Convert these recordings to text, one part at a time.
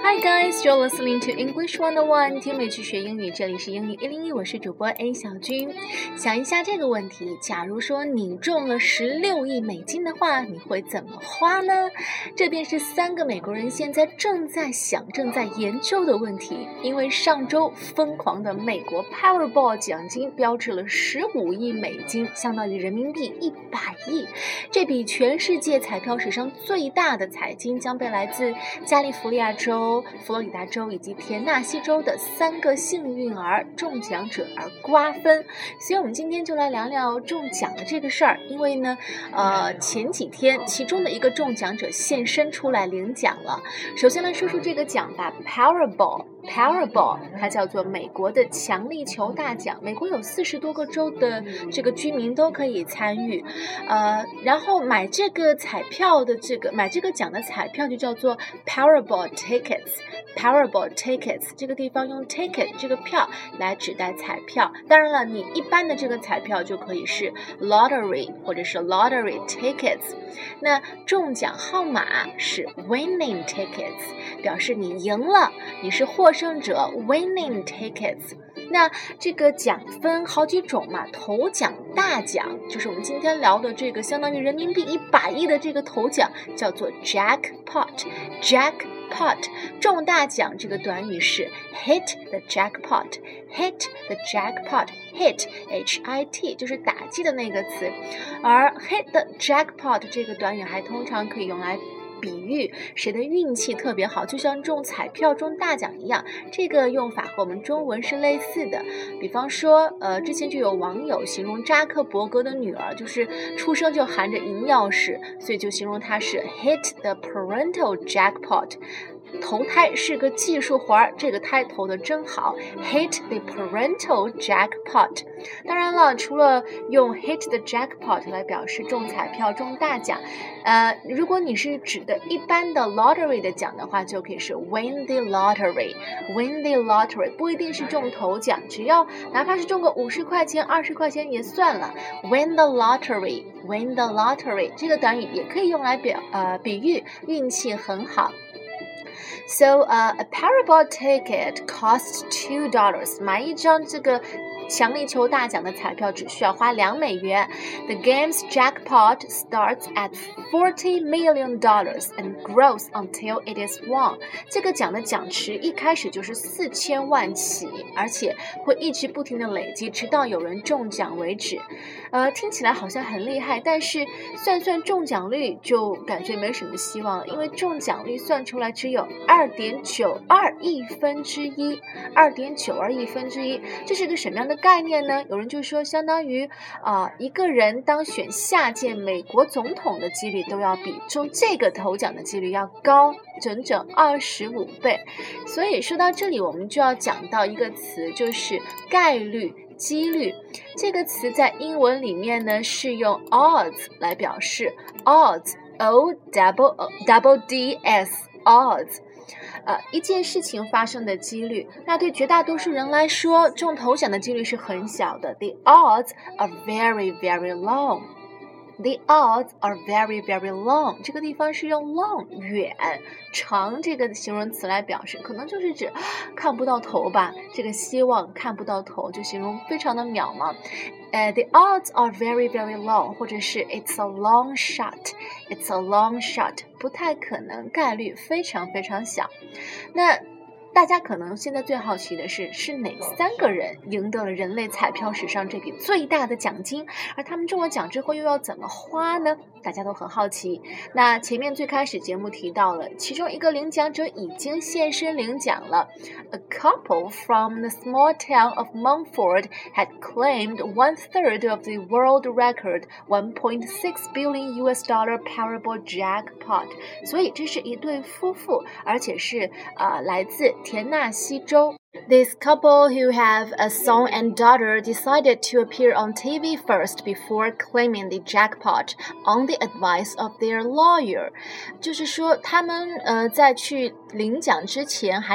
Hi guys, you're listening to English 101，听美去学英语，这里是英语101，我是主播 A 小军。想一下这个问题，假如说你中了16亿美金的话，你会怎么花呢？这便是3个美国人现在正在想、正在研究的问题。因为上周疯狂的美国 Powerball 奖金标志了15亿美金，相当于人民币100亿。这笔全世界彩票史上最大的彩金将被来自加利福尼亚州、佛罗里达州以及田纳西州的3个幸运儿中奖者而瓜分。所以我们今天就来聊聊中奖的这个事儿。因为呢前几天其中的一个中奖者现身出来领奖了。首先来说说这个奖吧， Powerball 它叫做美国的强力球大奖，美国有40多个州的这个居民都可以参与。然后买这个奖的彩票就叫做 Powerball tickets， 这个地方用 ticket 这个票来指代彩票。当然了，你一般的这个彩票就可以是 lottery 或者是 lottery tickets。那中奖号码是 winning tickets， 表示你赢了，你是获胜者 winning tickets。那这个奖分好几种嘛，头奖大奖就是我们今天聊的这个相当于人民币100亿的这个头奖叫做 jackpot。 中大奖这个短语是 hit the jackpot hit H-I-T 就是打击的那个词。而 hit the jackpot 这个短语还通常可以用来比喻谁的运气特别好，就像中彩票中大奖一样。这个用法和我们中文是类似的。比方说之前就有网友形容扎克伯格的女儿就是出生就含着银钥匙，所以就形容她是 hit the parental jackpot，投胎是个技术活儿，这个胎投的真好 hit the parental jackpot。 当然了，除了用 hit the jackpot 来表示中彩票中大奖，如果你是指的一般的 lottery 的奖的话，就可以是 win the lottery， 不一定是中头奖，只要哪怕是中个50块钱20块钱也算了， win the lottery 这个短语也可以用来比喻运气很好。So a Powerball ticket costs $2， 买一张这个强力球大奖的彩票只需要花2美元。The game's jackpot starts at $40 million and grows until it is won。 这个奖的奖池一开始就是4000万起，而且会一直不停的累积，直到有人中奖为止。听起来好像很厉害，但是算中奖率就感觉没什么希望了，因为中奖率算出来只有2.92亿分之一。这是个什么样的概念呢？有人就说相当于一个人当选下届美国总统的几率都要比中这个头奖的几率要高整整25倍。所以说到这里我们就要讲到一个词，就是概率几率。这个词在英文里面呢是用 odds 来表示， odds O-double-D-S odds，一件事情发生的几率。那对绝大多数人来说，中头奖的几率是很小的。 The odds are very very long， 这个地方是用 long 远长这个形容词来表示，可能就是指看不到头吧，这个希望看不到头，就形容非常的渺茫。The odds are very very long， 或者是 it's a long shot， 不太可能，概率非常非常小。那大家可能现在最好奇的是哪3个人赢得了人类彩票史上这笔最大的奖金，而他们中了奖之后又要怎么花呢？大家都很好奇。那前面最开始节目提到了，其中一个领奖者已经现身领奖了。 A couple from the small town of Mumford had claimed 1/3 of the world record $1.6 billion Powerball jackpot。 所以这是一对夫妇，而且是来自田纳西州。This couple, who have a son and daughter, decided to appear on TV first before claiming the jackpot on the advice of their lawyer。 就是说他们在去领奖之前还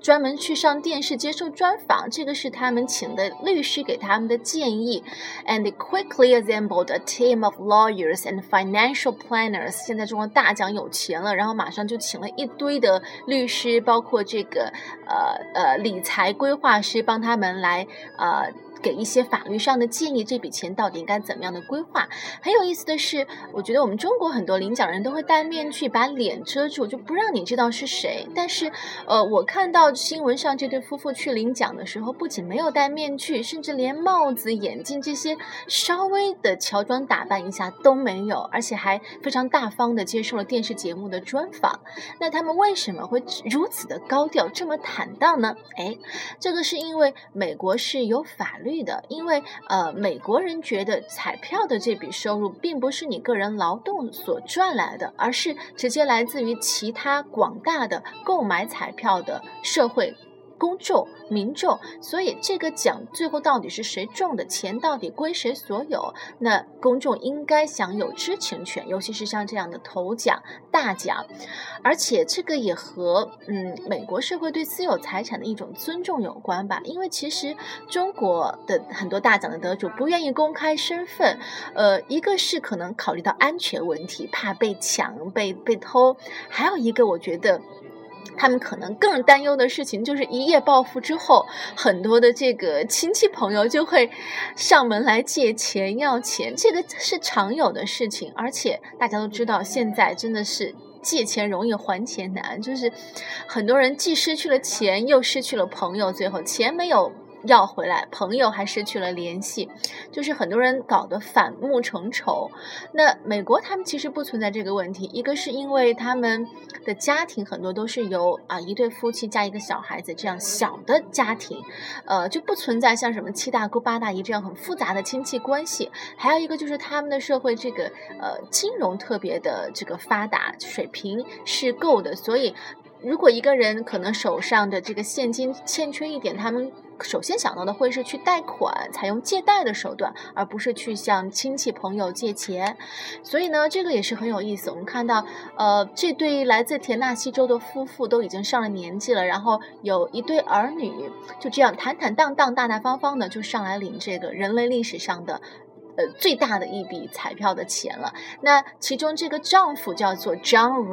专门去上电视接受专访，这个是他们请的律师给他们的建议。And they quickly assembled a team of lawyers and financial planners。现在中国大奖有钱了，然后马上就请了一堆的律师，包括这个理财规划师，帮他们来给一些法律上的建议，这笔钱到底应该怎么样的规划。很有意思的是，我觉得我们中国很多领奖人都会戴面具把脸遮住，就不让你知道是谁。但是我看到新闻上这对夫妇去领奖的时候，不仅没有戴面具，甚至连帽子、眼镜这些稍微的乔装打扮一下都没有，而且还非常大方的接受了电视节目的专访。那他们为什么会如此的高调，这么坦荡呢？这个是因为美国是有法律的，因为美国人觉得彩票的这笔收入并不是你个人劳动所赚来的，而是直接来自于其他广大的购买彩票的社会公众民众，所以这个奖最后到底是谁中的，钱到底归谁所有，那公众应该享有知情权，尤其是像这样的头奖大奖。而且这个也和美国社会对私有财产的一种尊重有关吧，因为其实中国的很多大奖的得主不愿意公开身份，一个是可能考虑到安全问题，怕被抢被偷，还有一个我觉得他们可能更担忧的事情就是一夜暴富之后，很多的这个亲戚朋友就会上门来借钱要钱，这个是常有的事情。而且大家都知道现在真的是借钱容易还钱难，就是很多人既失去了钱又失去了朋友，最后钱没有要回来，朋友还失去了联系，就是很多人搞得反目成仇。那美国他们其实不存在这个问题，一个是因为他们的家庭很多都是由一对夫妻加一个小孩子这样小的家庭，就不存在像什么七大姑八大姨这样很复杂的亲戚关系。还有一个就是他们的社会这个金融特别的这个发达，水平是够的，所以如果一个人可能手上的这个现金欠缺一点，他们首先想到的会是去贷款，采用借贷的手段，而不是去向亲戚朋友借钱。所以呢，这个也是很有意思。我们看到这对来自田纳西州的夫妇都已经上了年纪了，然后有一对儿女，就这样坦坦荡荡大大方方的就上来领这个人类历史上的最大的一笔彩票的钱了。那其中这个丈夫叫做 John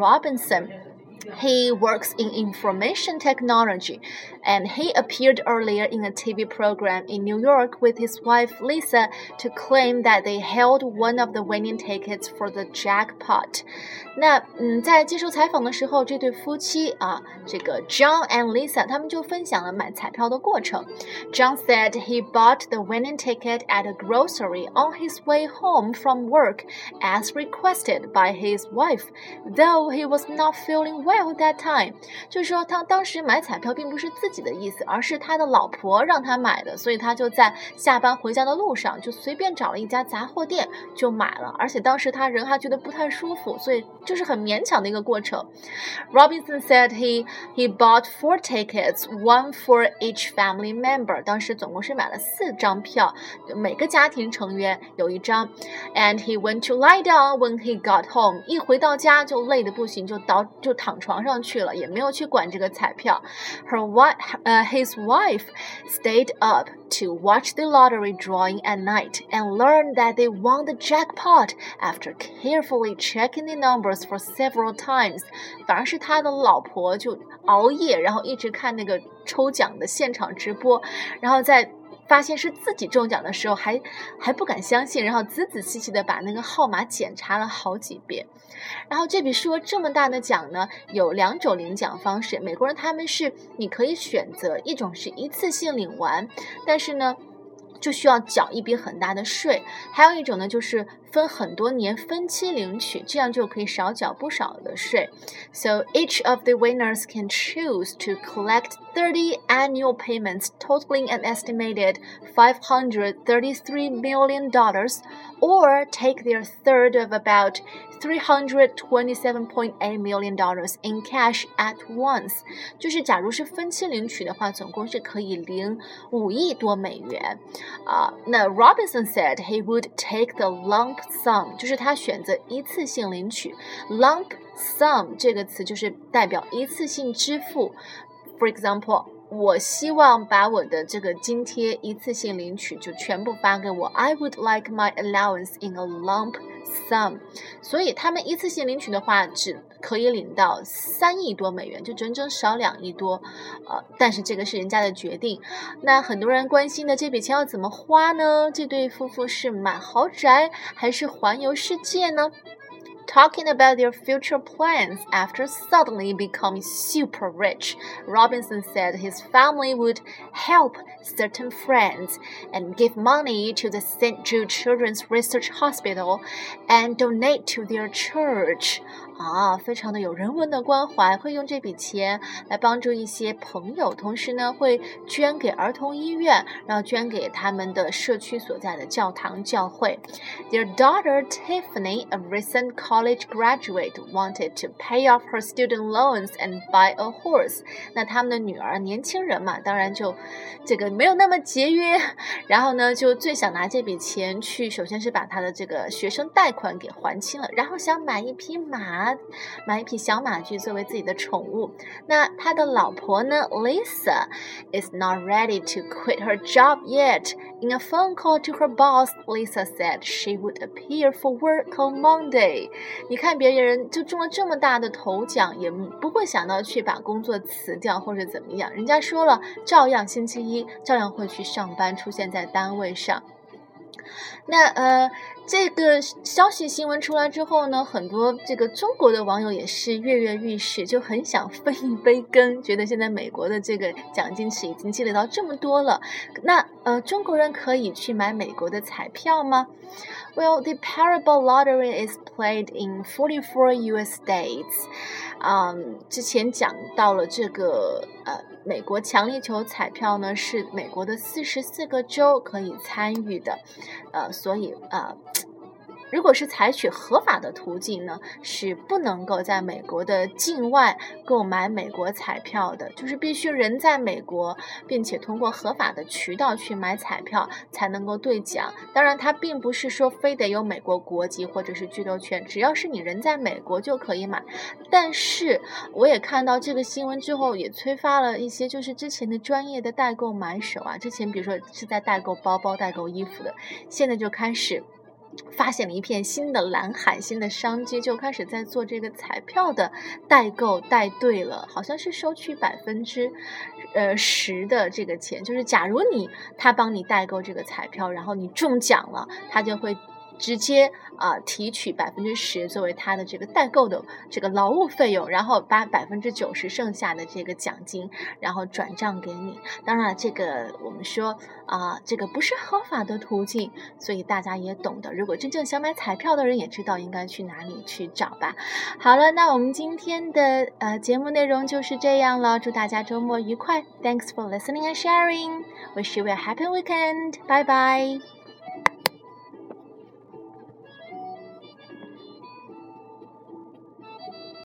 Robinson，He works in information technology, and he appeared earlier in a TV program in New York with his wife Lisa to claim that they held one of the winning tickets for the jackpot. 那在接受采访的时候，这对夫妻这个 John and Lisa 他们就分享了买彩票的过程。John said he bought the winning ticket at a grocery on his way home from work as requested by his wife, though he was not feeling well that time. 就是说他当时买彩票并不是自己的意思，而是他的老婆让他买的，所以他就在下班回家的路上就随便找了一家杂货店就买了，而且当时他人还觉得不太舒服，所以就是很勉强的一个过程。Robinson said he bought 4 tickets, one for each family member. 当时总共是买了4张票，每个家庭成员有一张。And he went to lie down when he got home. 一回到家就累得不行，就躺床上去了，也没有去管这个彩票。His wife stayed up to watch the lottery drawing at night and learned that they won the jackpot after carefully checking the numbers for several times. 反而是他的老婆就熬夜，然后一直看那个抽奖的现场直播，然后在发现是自己中奖的时候还不敢相信，然后仔仔细细的把那个号码检查了好几遍。然后这笔数额这么大的奖呢，有2种领奖方式。美国人他们是你可以选择，一种是一次性领完，但是呢就需要缴一笔很大的税，还有一种呢就是分很多年分期领取，这样就可以少缴不少的税。So each of the winners can choose to collect 30 annual payments totaling an estimated $533 million, or take their third of about $327.8 million in cash at once. 就是假如是分期领取的话，总共是可以领5亿多美元。那 Robinson said he would take the lump sum， 就是他选择一次性领取。lump sum 这个词就是代表一次性支付， For example, 我希望把我的这个津贴一次性领取就全部发给我。I would like my allowance in a lump sum. 所以他们一次性领取的话，只可以领到3亿多美元，就整整少2亿多。但是这个是人家的决定。那很多人关心的这笔钱要怎么花呢？这对夫妇是买豪宅还是环游世界呢？Talking about their future plans after suddenly becoming super rich, Robinson said his family would help certain friends and give money to the St. Jude Children's Research Hospital and donate to their church. 非常的有人文的关怀，会用这笔钱来帮助一些朋友，同时呢会捐给儿童医院，然后捐给他们的社区所在的教堂教会。Their daughter Tiffany, a recent college graduate, wanted to pay off her student loans and buy a horse. 那他们的女儿年轻人嘛，当然就这个没有那么节约，然后呢就最想拿这笔钱去，首先是把他的这个学生贷款给还清了，然后想买一匹马，买一匹小马驹作为自己的宠物。那他的老婆呢 Lisa is not ready to quit her job yet. In a phone call to her boss, Lisa said she would appear for work on Monday. 你看别人就中了这么大的头奖，也不会想到去把工作辞掉或者怎么样。人家说了，照样星期一照样会去上班，出现在单位上。那这个消息新闻出来之后呢，很多这个中国的网友也是跃跃欲试，就很想分一杯羹，觉得现在美国的这个奖金池已经积累到这么多了，那中国人可以去买美国的彩票吗？Well, the Powerball lottery is played in 44 U.S. states. 之前讲到了这个美国强力球彩票呢，是美国的44个州可以参与的，所以如果是采取合法的途径呢，是不能够在美国的境外购买美国彩票的，就是必须人在美国，并且通过合法的渠道去买彩票才能够兑奖。当然它并不是说非得有美国国籍或者是居留权，只要是你人在美国就可以买。但是我也看到这个新闻之后，也催发了一些就是之前的专业的代购买手之前比如说是在代购包包代购衣服的，现在就开始发现了一片新的蓝海，新的商机，就开始在做这个彩票的代购代兑了，好像是收取10%的这个钱，就是假如他帮你代购这个彩票，然后你中奖了，他就会直接提取10%作为他的这个代购的这个劳务费用，然后把90%剩下的这个奖金然后转账给你。当然这个我们说这个不是合法的途径，所以大家也懂得，如果真正想买彩票的人也知道应该去哪里去找吧。好了，那我们今天的节目内容就是这样了，祝大家周末愉快。 Thanks for listening and sharing. Wish you a happy weekend. Bye bye.